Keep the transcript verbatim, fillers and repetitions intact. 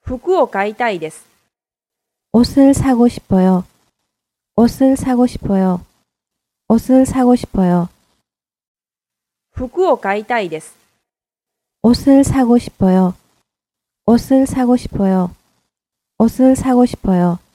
服を買いたいです。 옷을 사고 싶어요. 옷을 사고 싶어요. 옷을 사고 싶어요. 服を買いたいです。 옷을 사고 싶어요. 옷을 사고 싶어요. 옷을 사고 싶어요.